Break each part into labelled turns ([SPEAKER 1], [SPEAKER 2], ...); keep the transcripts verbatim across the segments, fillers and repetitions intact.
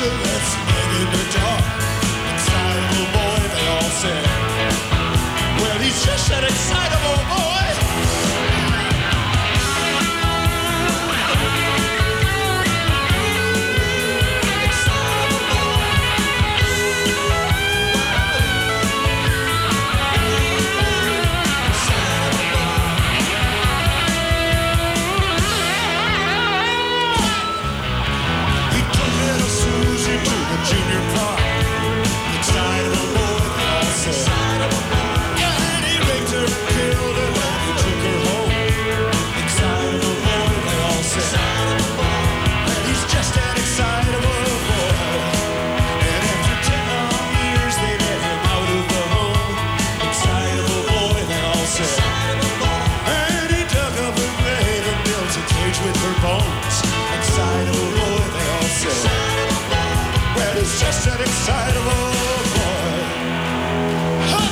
[SPEAKER 1] cigarettes in the dark. Excitable boy, they all said. Well, he's just an excitable boy. Junior Park, excitable boy, they all said. Excitable boy. Yeah, and he raped her and killed her when he took her home. Excitable boy, they all said. Excitable boy. And he's just an excitable boy. And after ten long years, they let him out of the home. Excitable boy, they all said. Excitable boy. And he dug up her grave and built a cage with her bones. Excitable boy, they all said. Well, he's just an excitable boy. Huh.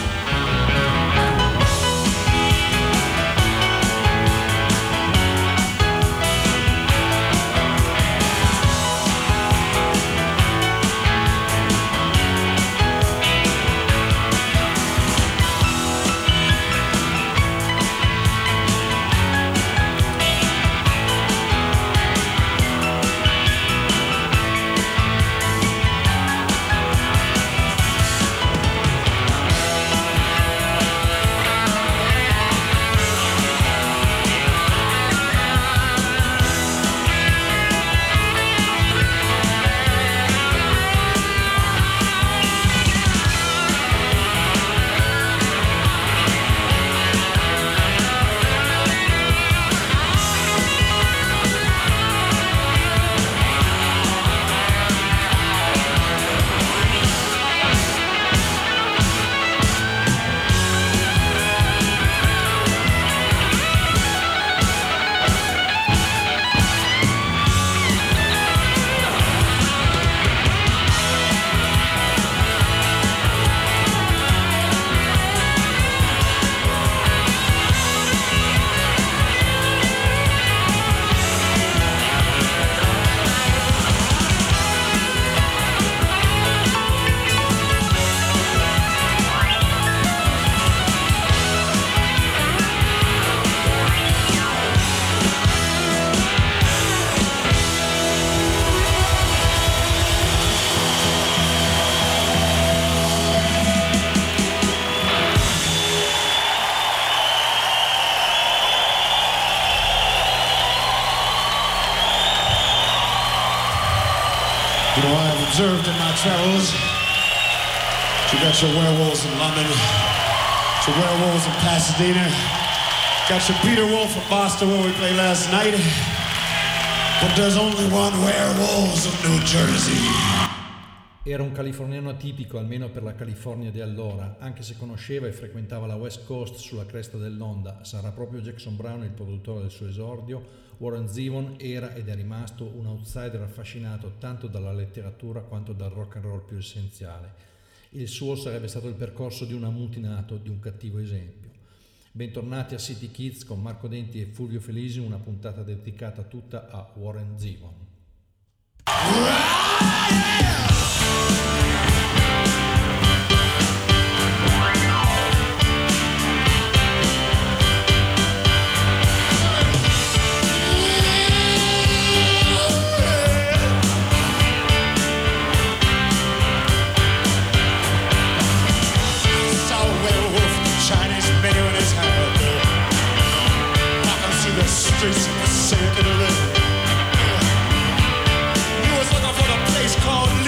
[SPEAKER 1] You know, I have observed in my travels, you got your werewolves in London, your werewolves in Pasadena, got your Peter Wolf in Boston where we played last night, but there's only one werewolves of New Jersey.
[SPEAKER 2] Era un californiano atipico, almeno per la California di allora, anche se conosceva e frequentava la West Coast sulla cresta dell'onda. Sarà proprio Jackson Browne il produttore del suo esordio. Warren Zevon era ed è rimasto un outsider affascinato tanto dalla letteratura quanto dal rock and roll più essenziale. Il suo sarebbe stato il percorso di un ammutinato, di un cattivo esempio. Bentornati a City Kids con Marco Denti e Fulvio Felisi, una puntata dedicata tutta a Warren Zevon.
[SPEAKER 1] Streets of the circuit of living. He was looking for the place called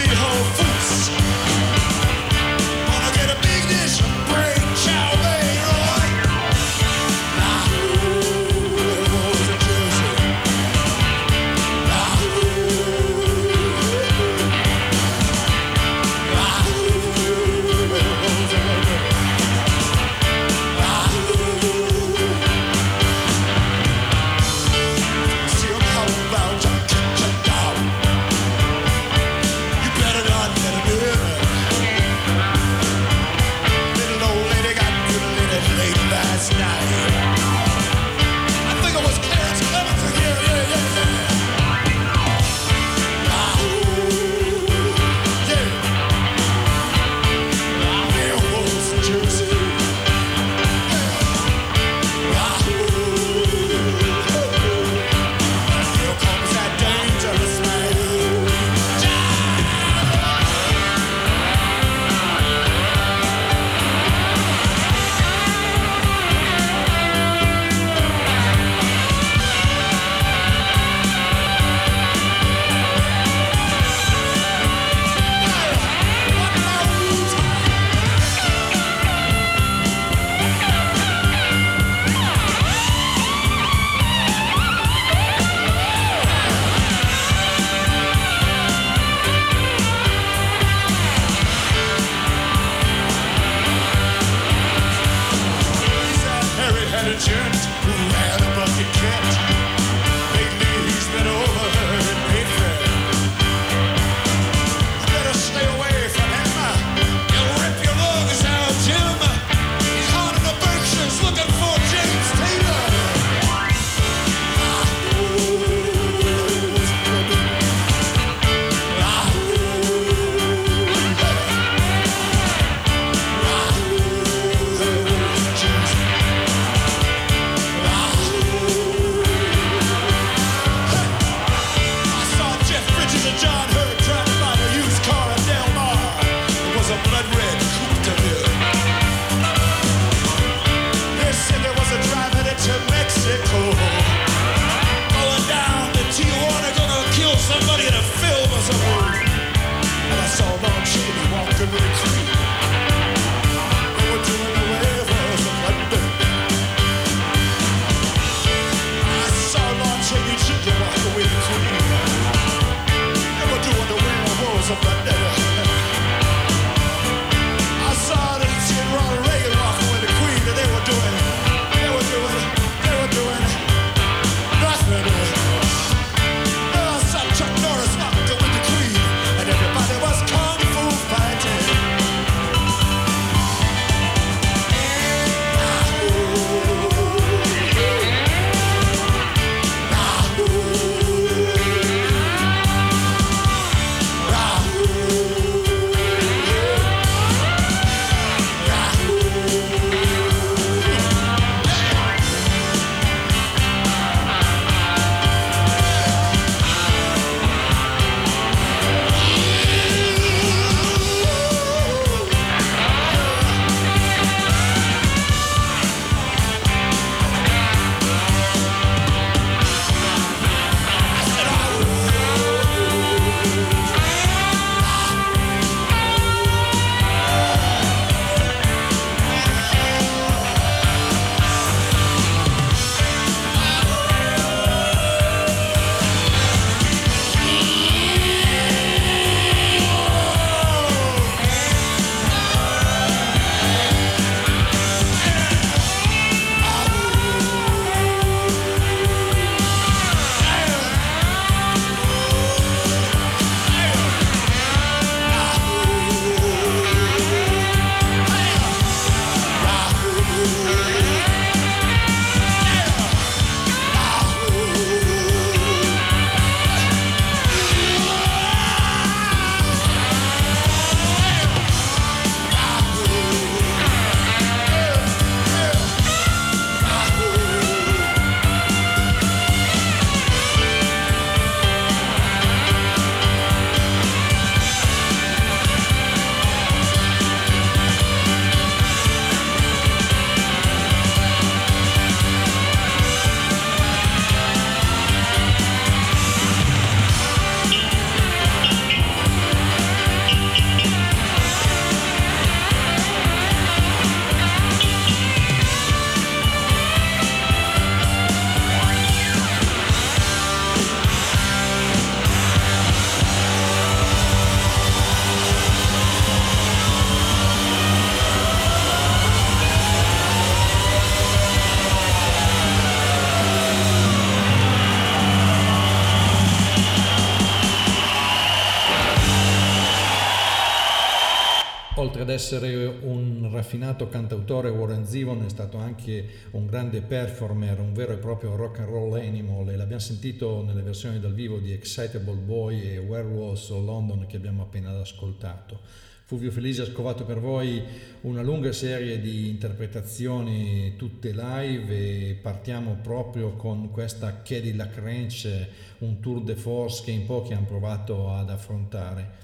[SPEAKER 2] Oltre ad essere un raffinato cantautore, Warren Zevon è stato anche un grande performer, un vero e proprio rock and roll animal, e l'abbiamo sentito nelle versioni dal vivo di Excitable Boy e Werewolves of London che abbiamo appena ascoltato. Fulvio Felice ha scovato per voi una lunga serie di interpretazioni tutte live e partiamo proprio con questa Cadillac Ranch, un tour de force che in pochi hanno provato ad affrontare.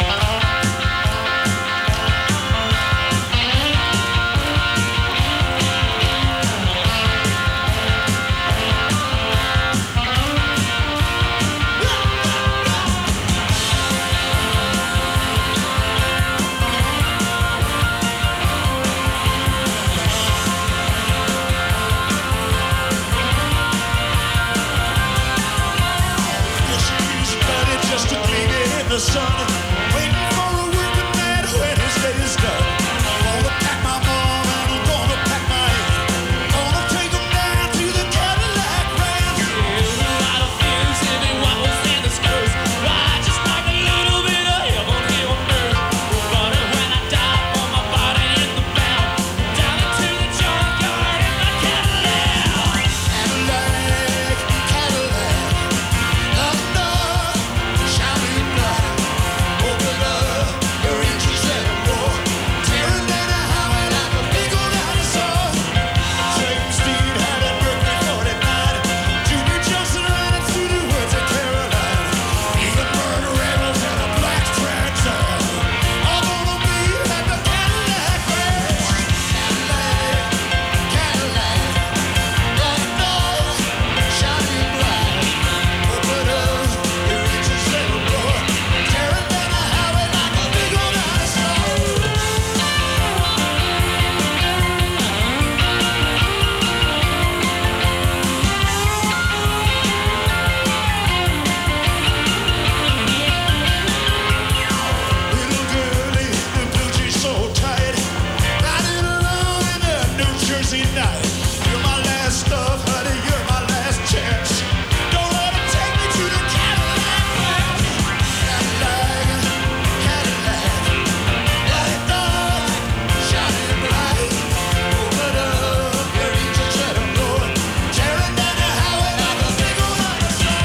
[SPEAKER 1] The sun, waiting for a working man when his day is done. I'm gonna pack my mom and I'm gonna pack my aunt. Gonna take them down to the Cadillac Ranch.
[SPEAKER 3] There's a lot of things if it wobbles and it stirs. Why just like a little bit of heaven here on earth. But when I die for my body in the bound, down into the junkyard in my Cadillac.
[SPEAKER 1] Cadillac, Cadillac, up north, shining bright. Open up your engine seven door, tearing down the highway like a big old dinosaur. James Dean had a Berkeley forty-nine. Junior Johnson ran it through the woods of Carolina. Even murder rebels and a black transit, all gonna be at the Cadillac Ranch. Cadillac, Cadillac, up north, shining bright. Open up your engine seven door, tearing down the highway like a big old dinosaur. Little girlie in blue jeans so tight, riding along in a New Jersey night. You're my last love, honey, you're my last chance. Don't let 'em take me to the Cadillac Ranch. Cadillac, Cadillac, light up, shining bright. Open up your engine seven door, tearing down the highway like a big old dinosaur.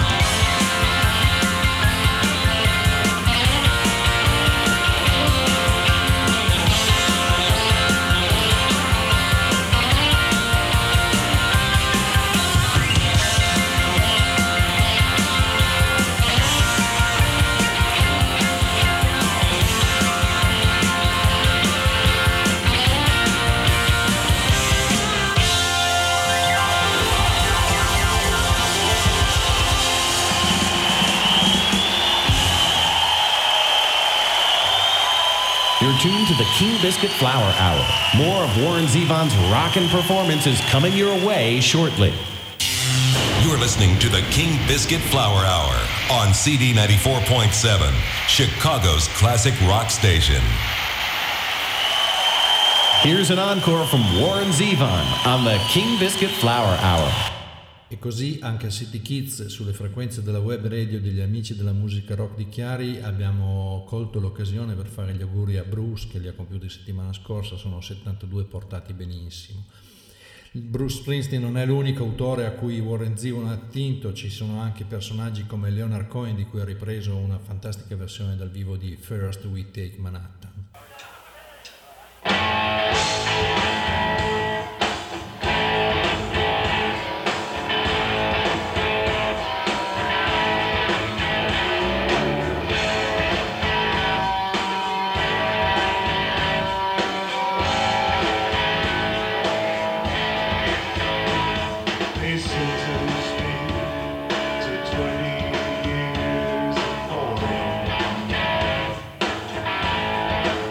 [SPEAKER 4] You're tuned to the King Biscuit Flower Hour. More of Warren Zevon's rockin' performance is coming your way shortly.
[SPEAKER 5] You're listening to the King Biscuit Flower Hour on C D ninety-four point seven, Chicago's classic rock station.
[SPEAKER 4] Here's an encore from Warren Zevon on the King Biscuit Flower Hour.
[SPEAKER 2] E così anche a City Kids, sulle frequenze della web radio degli amici della musica rock di Chiari, abbiamo colto l'occasione per fare gli auguri a Bruce, che li ha compiuti settimana scorsa, sono settantadue, portati benissimo. Bruce Springsteen non è l'unico autore a cui Warren Zevon ha attinto, ci sono anche personaggi come Leonard Cohen, di cui ha ripreso una fantastica versione dal vivo di First We Take Manhattan.
[SPEAKER 1] Listen to me to twenty years of holding.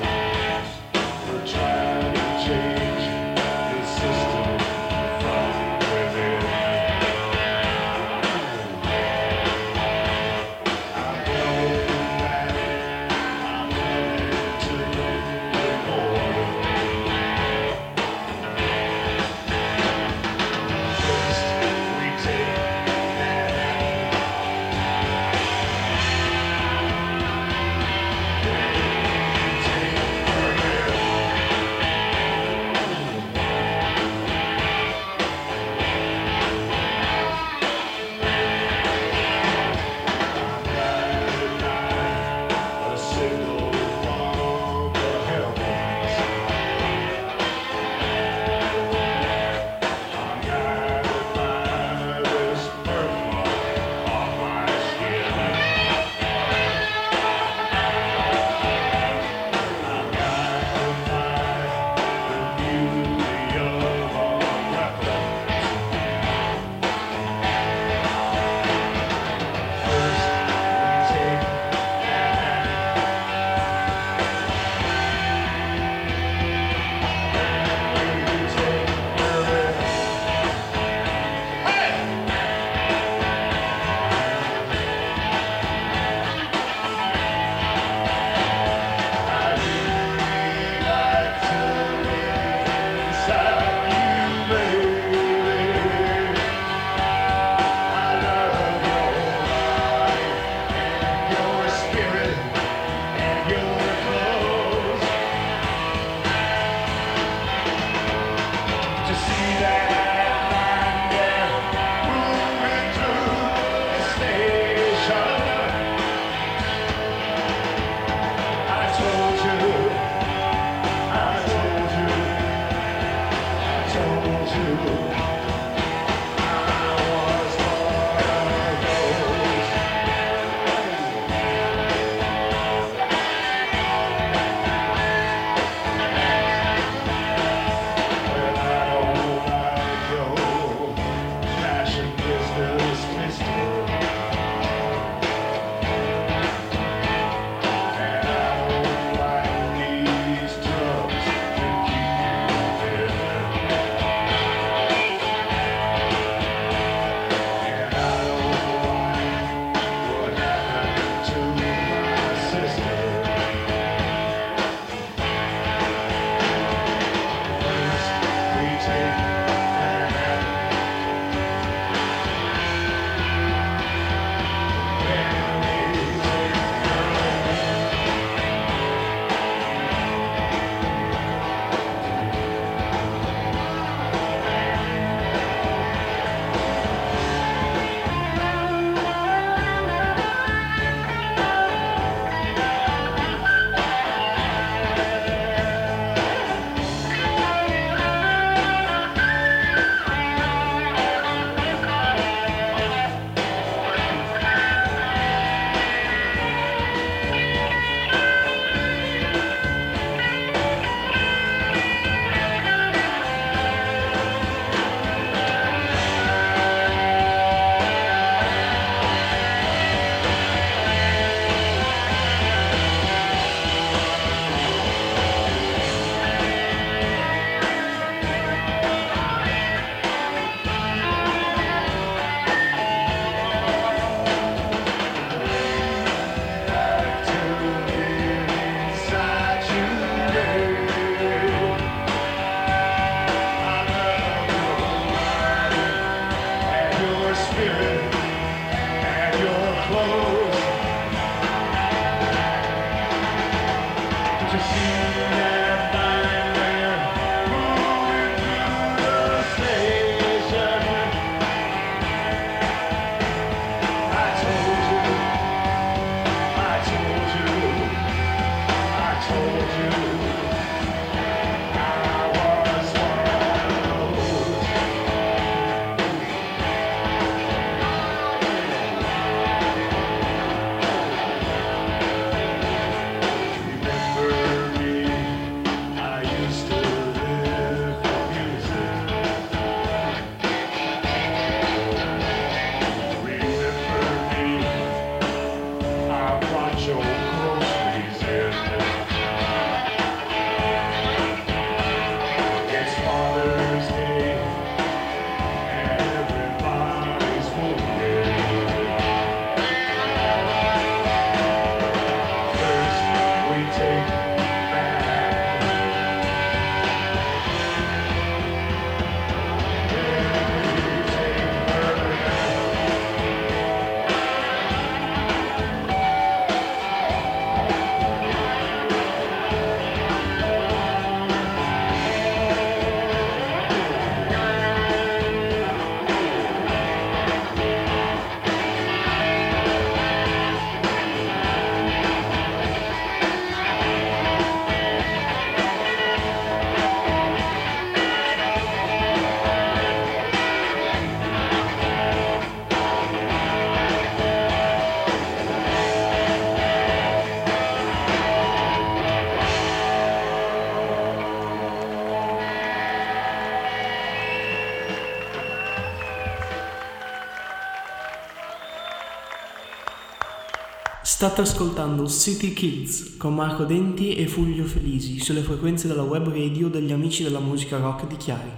[SPEAKER 6] State ascoltando City Kids con Marco Denti e Fulvio Felisi sulle frequenze della web radio degli amici della musica rock di Chiari.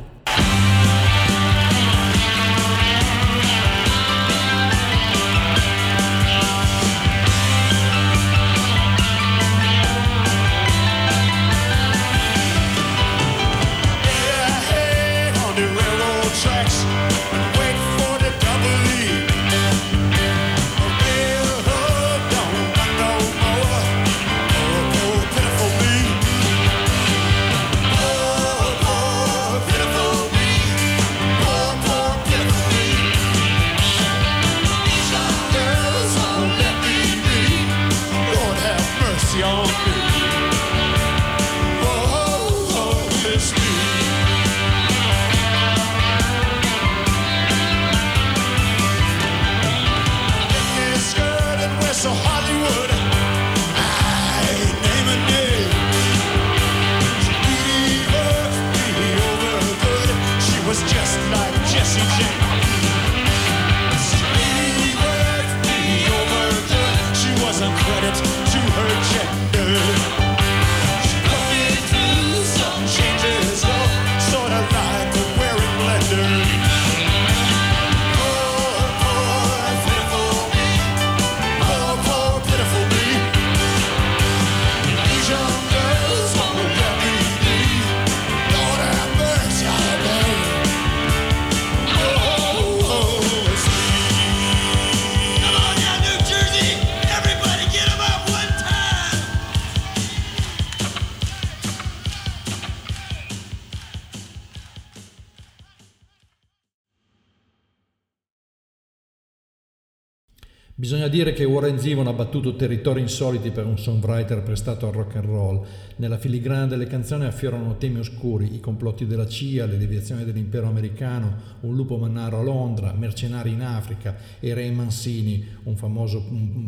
[SPEAKER 2] Bisogna dire che Warren Zevon ha battuto territori insoliti per un songwriter prestato al rock and roll. Nella filigrana delle canzoni affiorano temi oscuri, i complotti della C I A, le deviazioni dell'impero americano, un lupo mannaro a Londra, mercenari in Africa e Ray Mancini, un famoso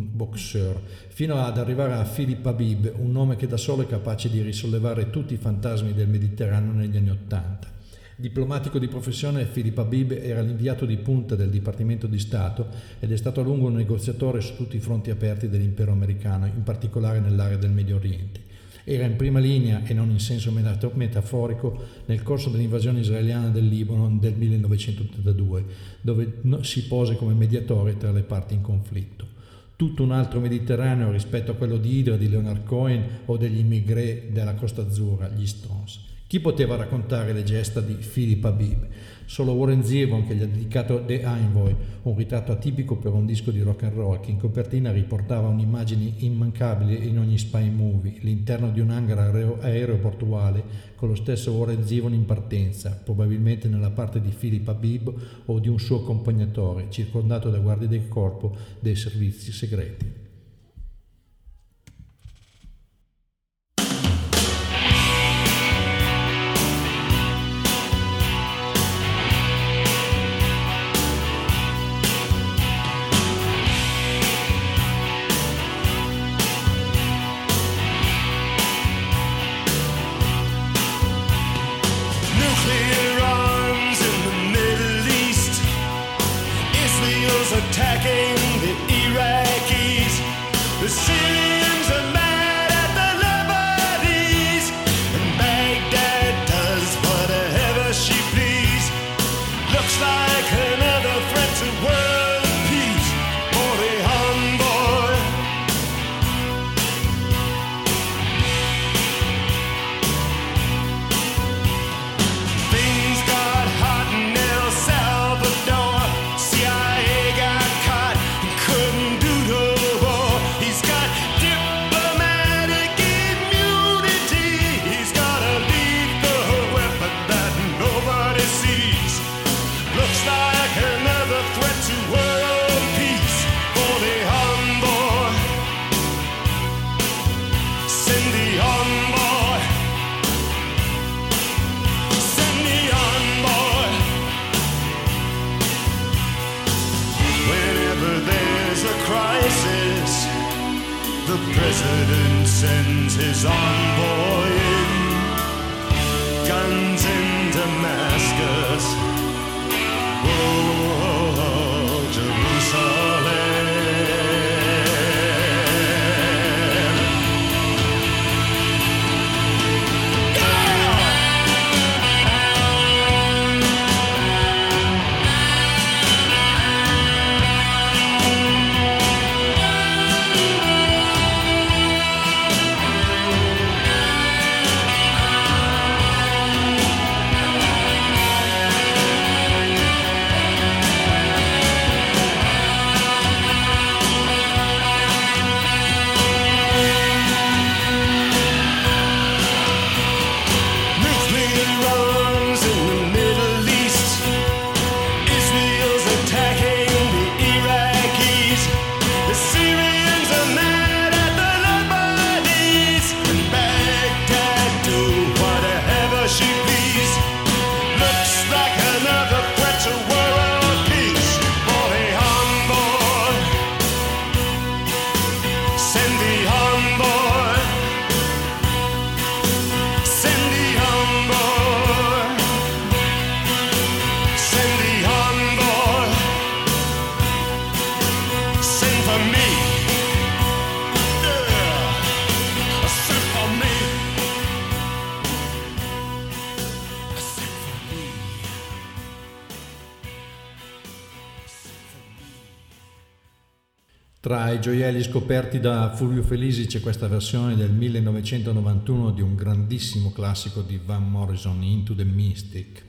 [SPEAKER 2] boxer, fino ad arrivare a Philip Habib, un nome che da solo è capace di risollevare tutti i fantasmi del Mediterraneo negli anni Ottanta. Diplomatico di professione, Philip Habib era l'inviato di punta del Dipartimento di Stato ed è stato a lungo un negoziatore su tutti i fronti aperti dell'impero americano, in particolare nell'area del Medio Oriente. Era in prima linea, e non in senso metaforico, nel corso dell'invasione israeliana del Libano del millenovecentottantadue, dove si pose come mediatore tra le parti in conflitto. Tutto un altro Mediterraneo rispetto a quello di Hydra, di Leonard Cohen o degli immigré della Costa Azzurra, gli Stones. Chi poteva raccontare le gesta di Philip Habib? Solo Warren Zevon, che gli ha dedicato The Envoy, un ritratto atipico per un disco di rock and roll che in copertina riportava un'immagine immancabile in ogni spy movie, l'interno di un hangar aereo- aeroportuale con lo stesso Warren Zevon in partenza, probabilmente nella parte di Philip Habib o di un suo accompagnatore, circondato da guardie del corpo dei servizi segreti.
[SPEAKER 1] Attacking the Iraqis, the Syrians are mad at the Lebanese, and Baghdad does whatever she please. Looks like another threat to world peace for the envoy. Things got hot in El Salvador. C I A the president sends his envoy in, guns in Damascus, oh, Jerusalem.
[SPEAKER 2] Tra i gioielli scoperti da Fulvio Felisi c'è questa versione del millenovecentonovantuno di un grandissimo classico di Van Morrison, Into the Mystic.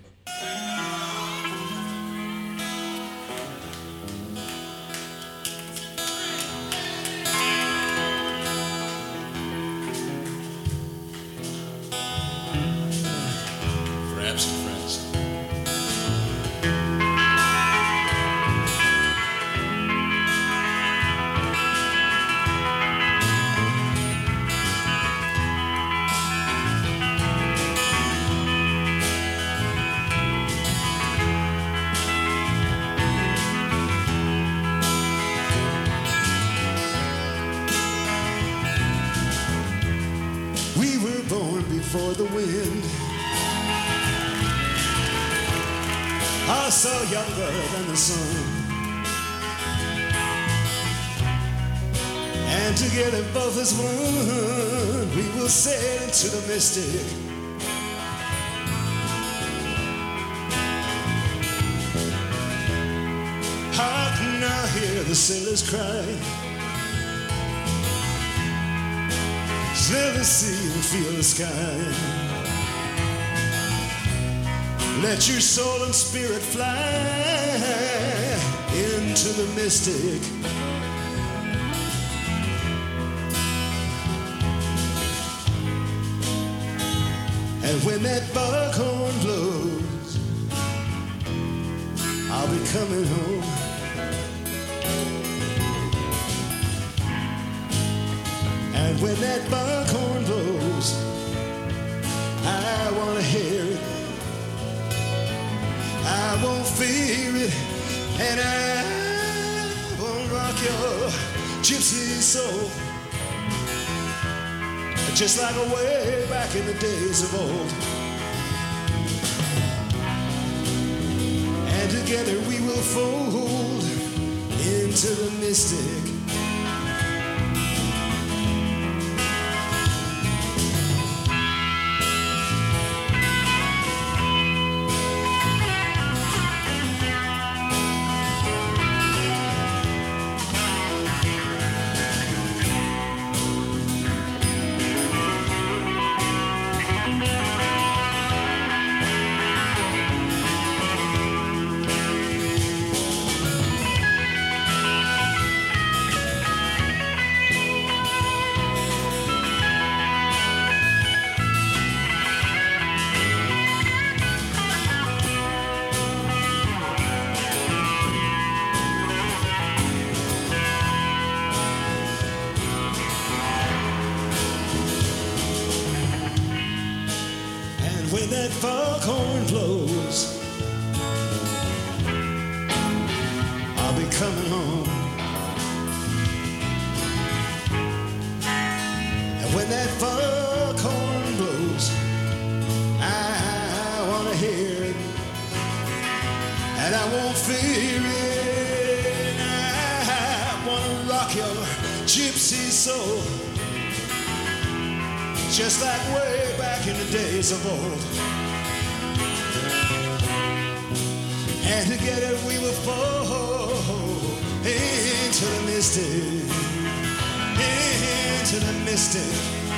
[SPEAKER 1] For the wind, are so younger than the sun, and together both as one we will sail into the mystic. I can now hear the sailors cry, smell the sea and feel the sky. Let your soul and spirit fly into the mystic. And when that buckhorn blows, I'll be coming home. And when that buckhorn blows, I wanna hear it. I won't fear it, and I won't rock your gypsy soul, just like way back in the days of old. And together we will fold into the mystic. When that foghorn blows, I'll be coming home. And when that foghorn blows, I wanna hear it, and I won't fear it. I wanna rock your gypsy soul, just like way back in the days of old. And together we will fall into the mystic, into the mystic.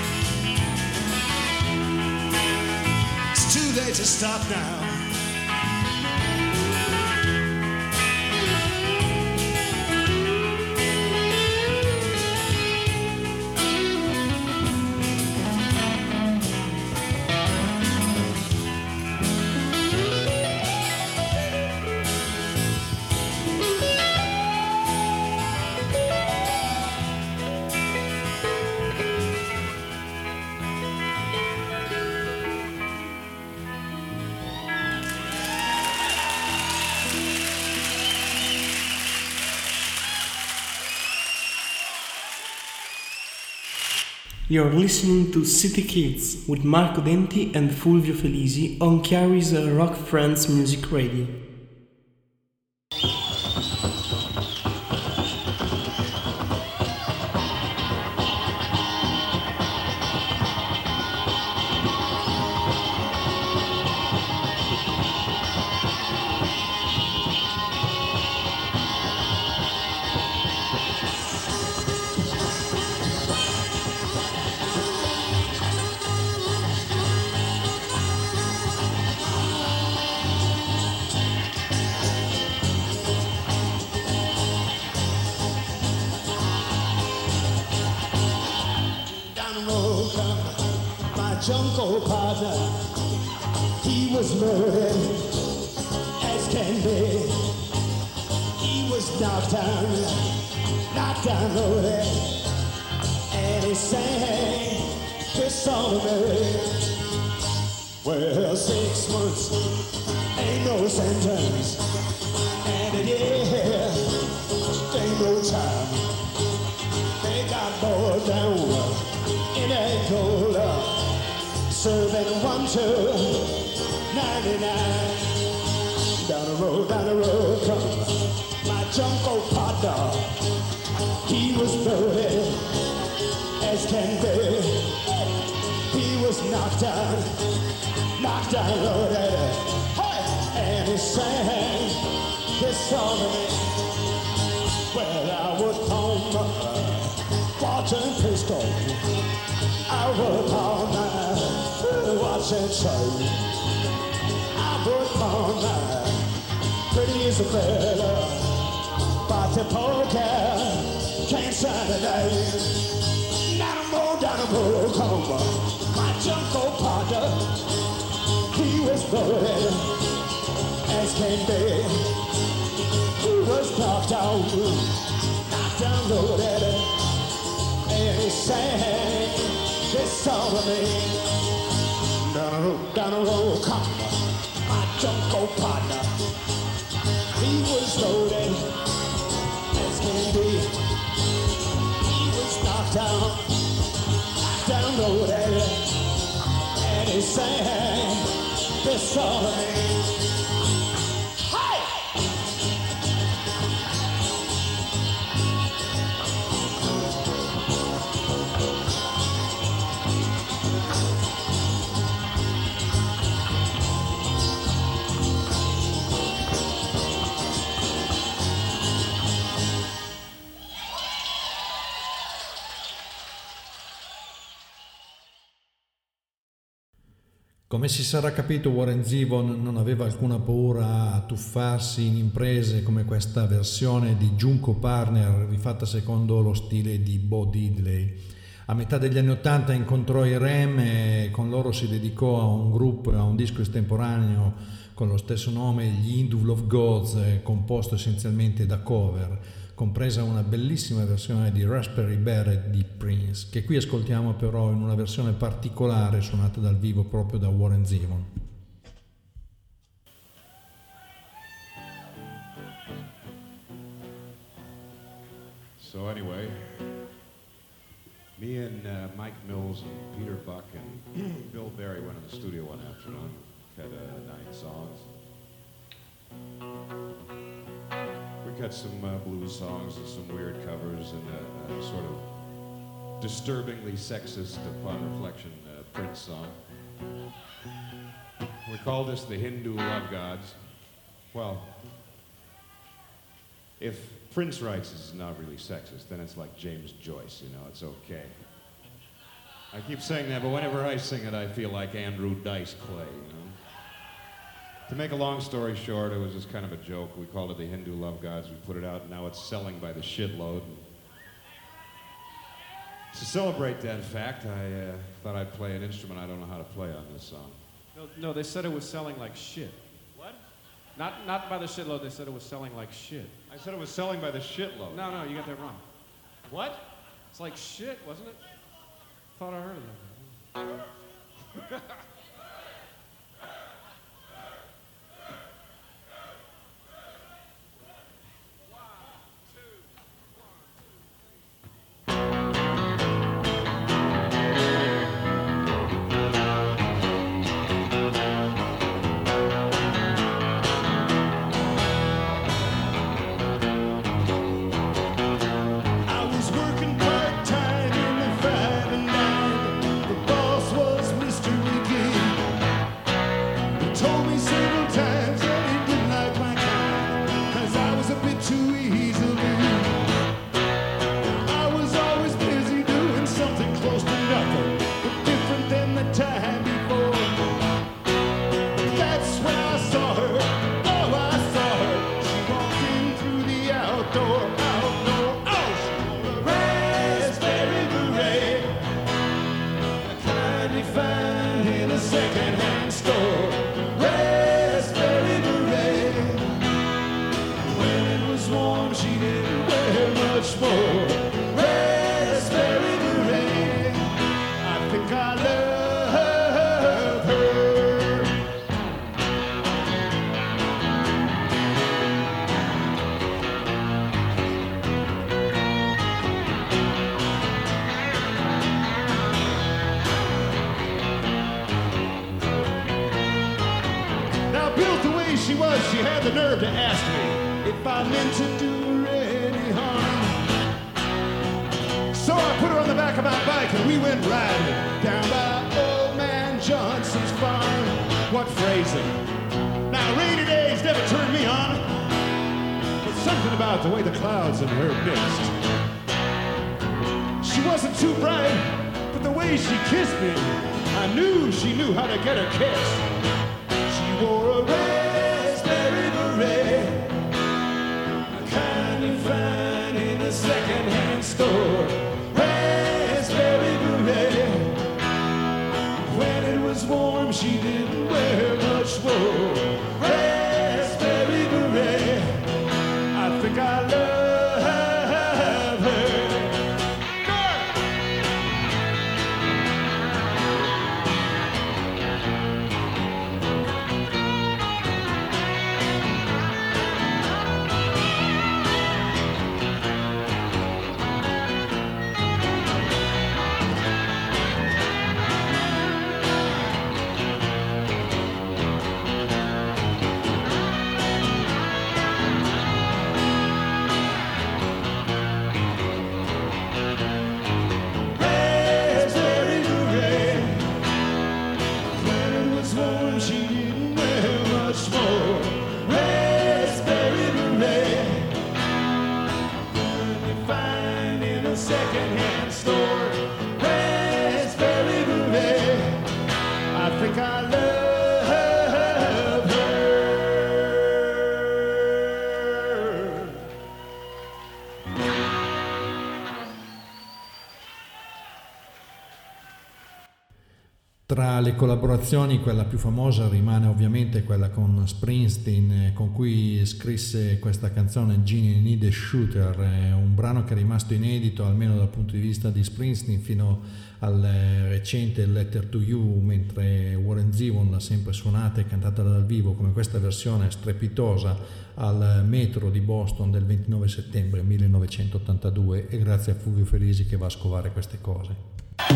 [SPEAKER 1] It's too late to stop now.
[SPEAKER 6] You're listening to City Kids with Marco Denti and Fulvio Felisi on Chiari's Rock Friends Music Radio.
[SPEAKER 1] Jungle partner, he was murdered as can be. He was knocked down, knocked down loaded, and he sang this song to me. Well, six months ain't no sentence, and a year ain't no time. They got boiled down in a cola, serving one to ninety-nine. Down the road, down the road come my jungle partner. He was loaded as can be. He was knocked down, knocked down loaded, hey! And he sang this song to me. Well, I was home watching pistol. I work all night watching show. I work night. Pretty Isabella, but the poker can't shine the night. Dynamo, Dynamo, come on. My jungle partner, he was loaded as can be. He was knocked out, knocked down, loaded, and he sang this song to me. Down the road, down the road, come on. My jungle partner, he was loaded as can be. He was knocked down, knocked down, loaded, and he sang this song to me.
[SPEAKER 2] Come si sarà capito, Warren Zevon non aveva alcuna paura a tuffarsi in imprese come questa versione di Junko Partner rifatta secondo lo stile di Bo Diddley. A metà degli anni Ottanta incontrò i Rem e con loro si dedicò a un gruppo, a un disco estemporaneo con lo stesso nome, gli Hindu Love Gods, composto essenzialmente da cover, compresa una bellissima versione di Raspberry Beret di Prince, che qui ascoltiamo però in una versione particolare suonata dal vivo proprio da Warren Zevon.
[SPEAKER 7] So anyway, me and uh, Mike Mills and Peter Buck and Bill Berry went in the studio one afternoon, had uh, nine songs. We cut some uh, blues songs and some weird covers and a, a sort of disturbingly sexist, upon reflection, uh, Prince song. We call this the Hindu Love Gods. Well, if Prince writes it's not really sexist, then it's like James Joyce, you know, it's okay. I keep saying that, but whenever I sing it, I feel like Andrew Dice Clay, you know. To make a long story short, it was just kind of a joke. We called it the Hindu Love Gods. We put it out, and now it's selling by the shitload. To celebrate that fact, I uh, thought I'd play an instrument I don't know how to play on this song.
[SPEAKER 8] No, no, they said it was selling like shit.
[SPEAKER 7] What?
[SPEAKER 8] Not, not by the shitload, they said it was selling like shit.
[SPEAKER 7] I said it was selling by the shitload.
[SPEAKER 8] No, no, you got that wrong.
[SPEAKER 7] What?
[SPEAKER 8] It's like shit, wasn't it? Thought I heard of that.
[SPEAKER 1] She was, she had the nerve to ask me if I meant to do her any harm. So I put her on the back of my bike and we went riding down by old man Johnson's farm. What phrasing? Now rainy days never turned me on, but something about the way the clouds and her mixed. She wasn't too bright, but the way she kissed me, I knew she knew how to get her kiss. She wore a red home, she didn't wear much more. Raspberry beret, I think I love her. Secondhand store, raspberry beret, I think I love her.
[SPEAKER 2] Tra le collaborazioni quella più famosa rimane ovviamente quella con Springsteen, con cui scrisse questa canzone Genie Need a Shooter, un brano che è rimasto inedito almeno dal punto di vista di Springsteen fino al recente Letter to You, mentre Warren Zevon l'ha sempre suonata e cantata dal vivo come questa versione strepitosa al Metro di Boston del ventinove settembre millenovecentottantadue, e grazie a Fulvio Felisi che va a scovare queste cose.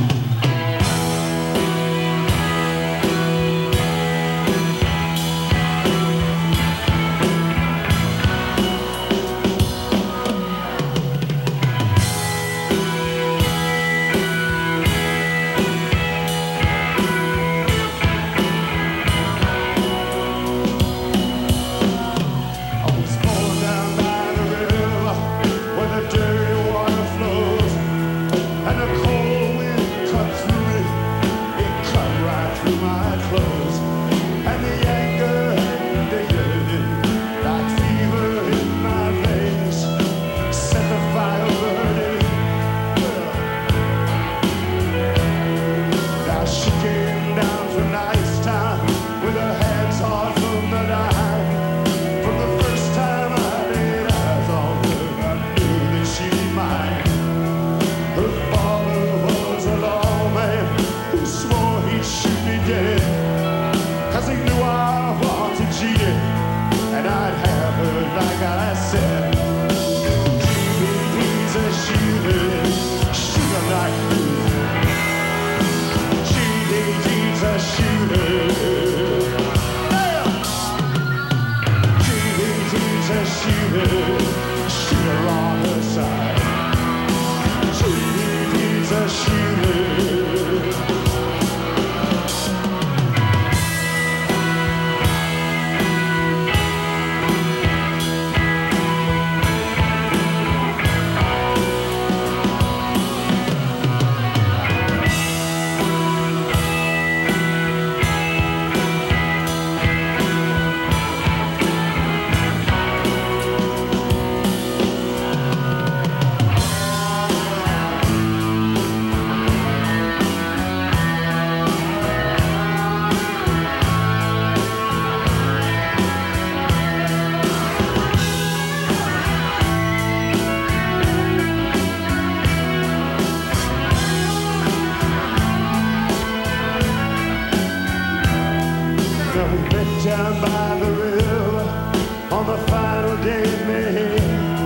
[SPEAKER 1] Down by the river on the final day of May,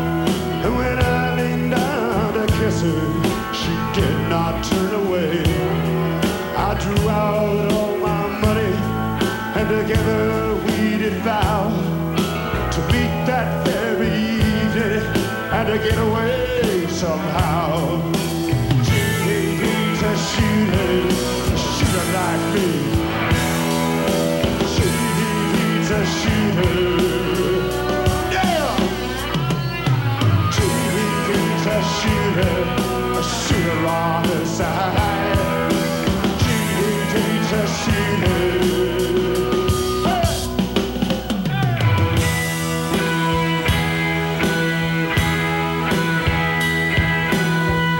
[SPEAKER 1] and when I leaned down to kiss her, she did not turn away. I drew out all my money, and together we did vow to meet that very evening and to get away somehow. She needs a shooter, a shooter like me. A shooter, yeah. She needs a shooter, a shooter on the side. She needs a shooter.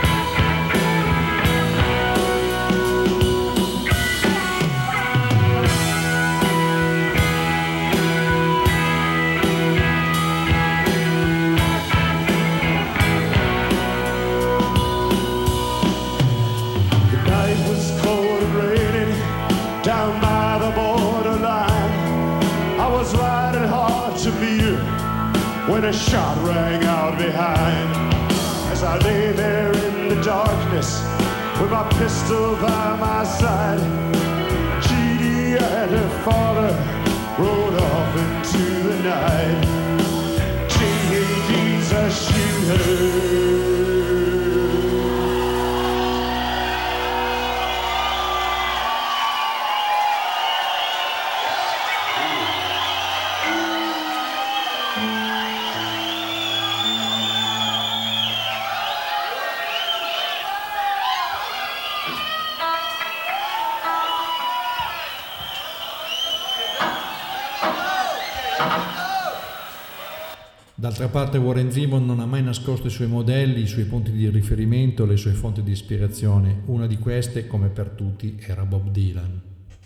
[SPEAKER 1] Hey! when a shot rang out behind. As I lay there in the darkness with my pistol by my side, G D and her father rode off into the night. J A G's a shooter.
[SPEAKER 2] D'altra parte Warren Zevon non ha mai nascosto i suoi modelli, i suoi punti di riferimento, le sue fonti di ispirazione. Una di queste, come per tutti, era Bob Dylan.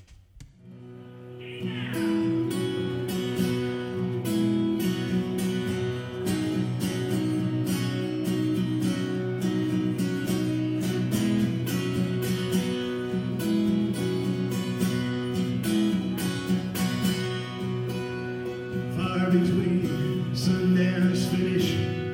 [SPEAKER 1] Far between Sundance finish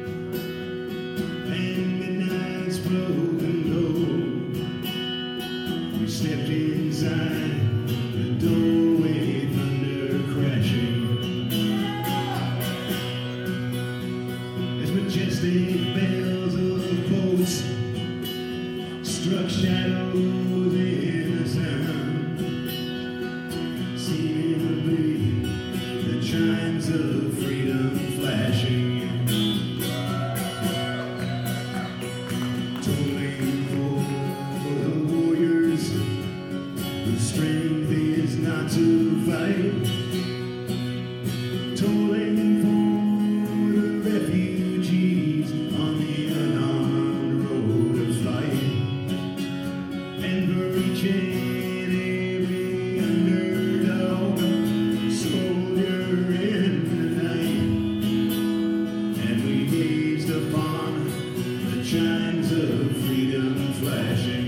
[SPEAKER 1] and midnight's broken door, we stepped inside the doorway, thunder crashing as majestic bells of boats struck shadows in the sound, seemingly the chimes of freedom flashing, tolling for the warriors whose strength is not to fight, tolling for the refugees on the unarmed road of flight, and for each and every underdog soldier in the night. And we gazed upon the chimes of freedom flashing.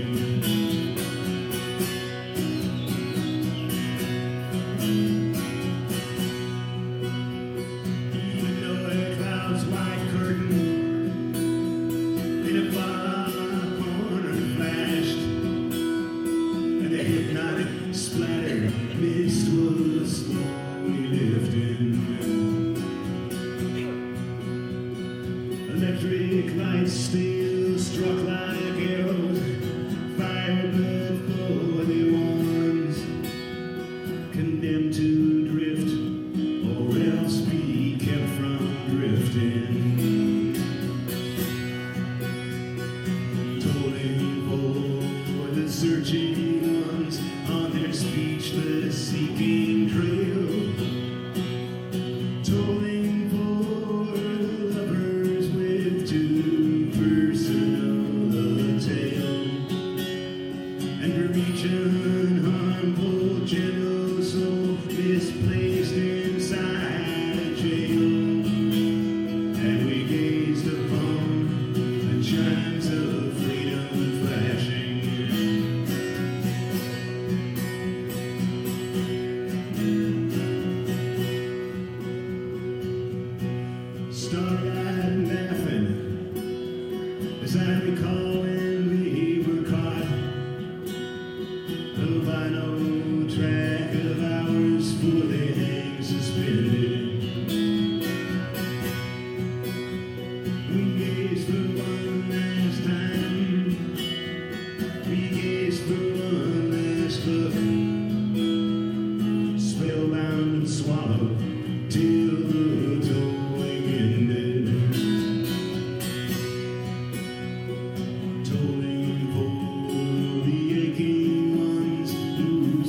[SPEAKER 1] Even though a cloud's white curtain in a far corner flashed, and the hypnotic splatter mist was slowly lifting. Electric lights still struck like arrows, fired before the ones condemned to drift, or else be kept from drifting. Tolling for the searching ones on their speechless seeking trail, tolling for the lovers with too personal a tale, and for each unharmful gentle soul misplaced inside a jail. And we gazed upon the chimes of freedom flashing. Starlight laughing as I recall when we were caught, though by no track of ours, for they hang suspended. We gazed for one last time, we gazed for one last look, spellbound and swallowed till the tolling ended. Tolling for the aching ones who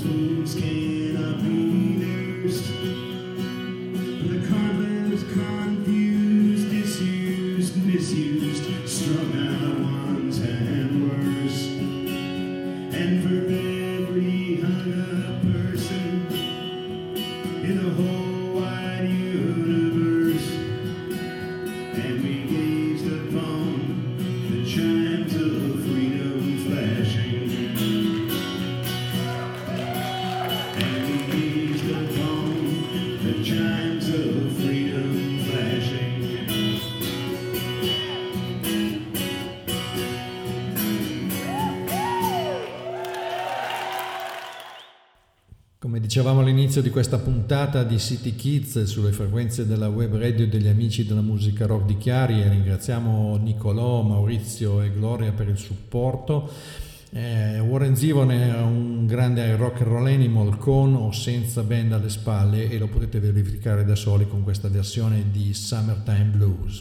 [SPEAKER 2] Come dicevamo all'inizio di questa puntata di City Kids sulle frequenze della web radio degli amici della musica rock di Chiari, e ringraziamo Nicolò, Maurizio e Gloria per il supporto. Eh, Warren Zevon è un grande rock and roll animal con o senza band alle spalle, e lo potete verificare da soli con questa versione di Summertime Blues.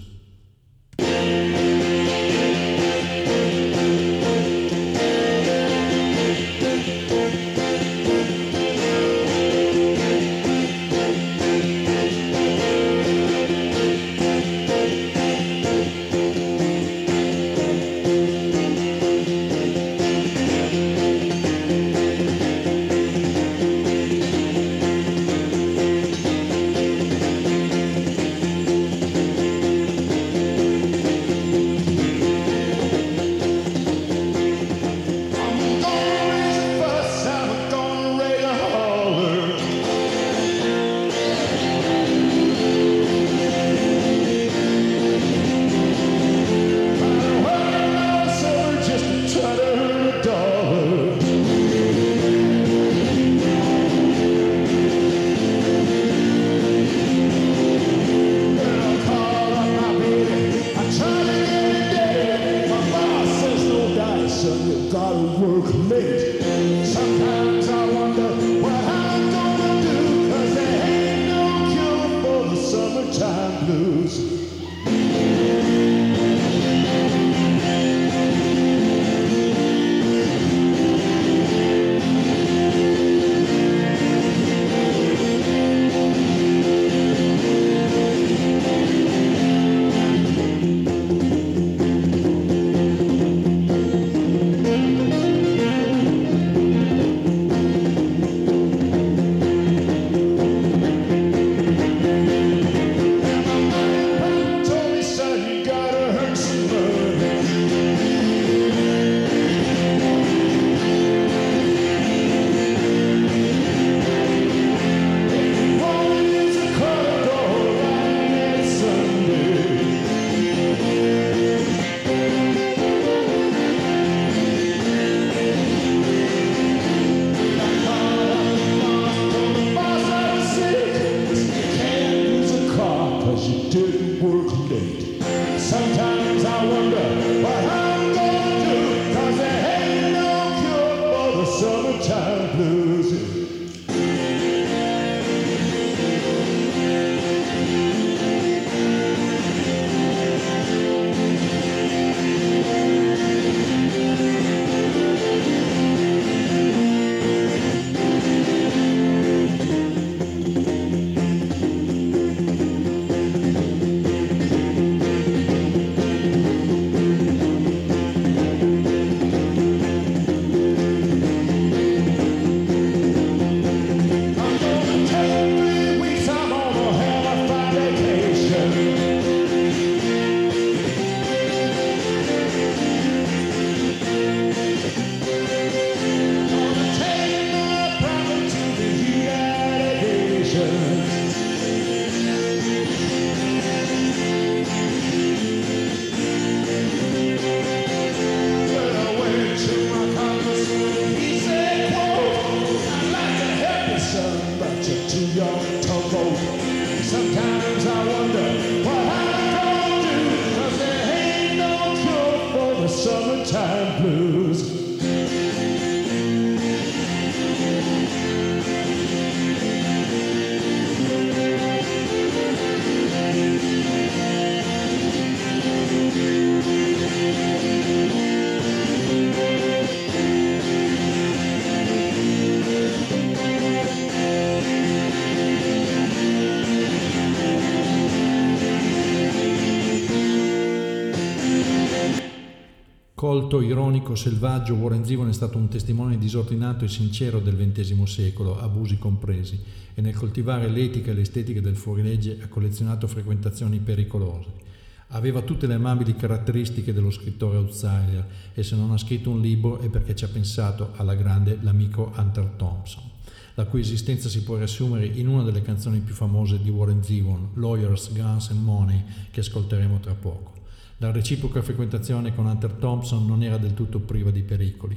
[SPEAKER 2] Colto, ironico, selvaggio, Warren Zevon è stato un testimone disordinato e sincero del ventesimo secolo, abusi compresi, e nel coltivare l'etica e l'estetica del fuorilegge ha collezionato frequentazioni pericolose. Aveva tutte le amabili caratteristiche dello scrittore outsider, e se non ha scritto un libro è perché ci ha pensato alla grande l'amico Hunter Thompson, la cui esistenza si può riassumere in una delle canzoni più famose di Warren Zevon, Lawyers, Guns and Money, che ascolteremo tra poco. La reciproca frequentazione con Hunter Thompson non era del tutto priva di pericoli.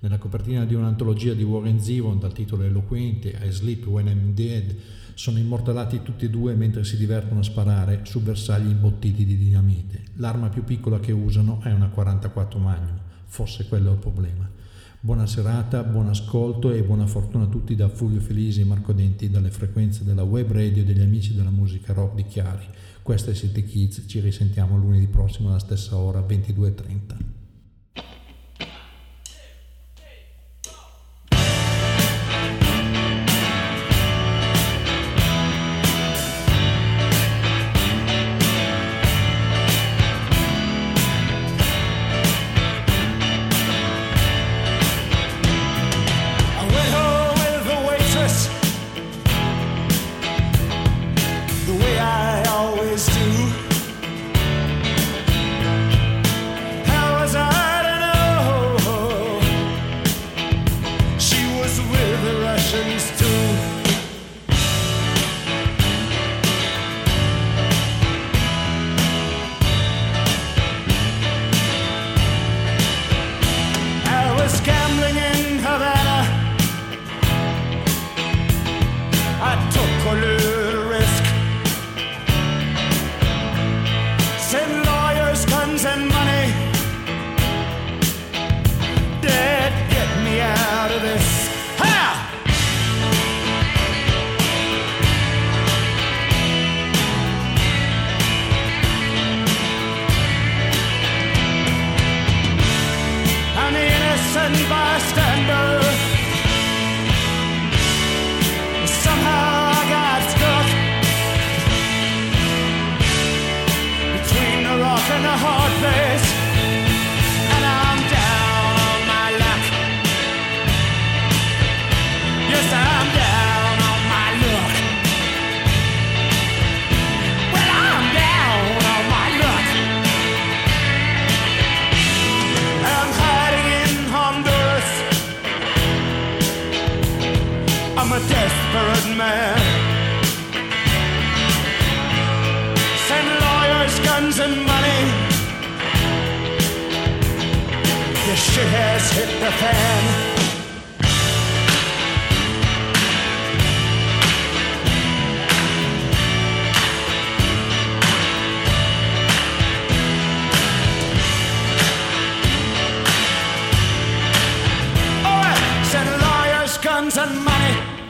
[SPEAKER 2] Nella copertina di un'antologia di Warren Zevon dal titolo eloquente I Sleep When I'm Dead sono immortalati tutti e due mentre si divertono a sparare su bersagli imbottiti di dinamite. L'arma più piccola che usano è una quarantaquattro Magnum, forse quello è il problema. Buona serata, buon ascolto e buona fortuna a tutti da Fulvio Felisi e Marco Denti dalle frequenze della web radio degli amici della musica rock di Chiari. Questo è City Kids, ci risentiamo lunedì prossimo alla stessa ora, ventidue e trenta.
[SPEAKER 1] I'm a desperate man. Send lawyers, guns, and money. This shit has hit the fan. All right, send lawyers, guns, and money.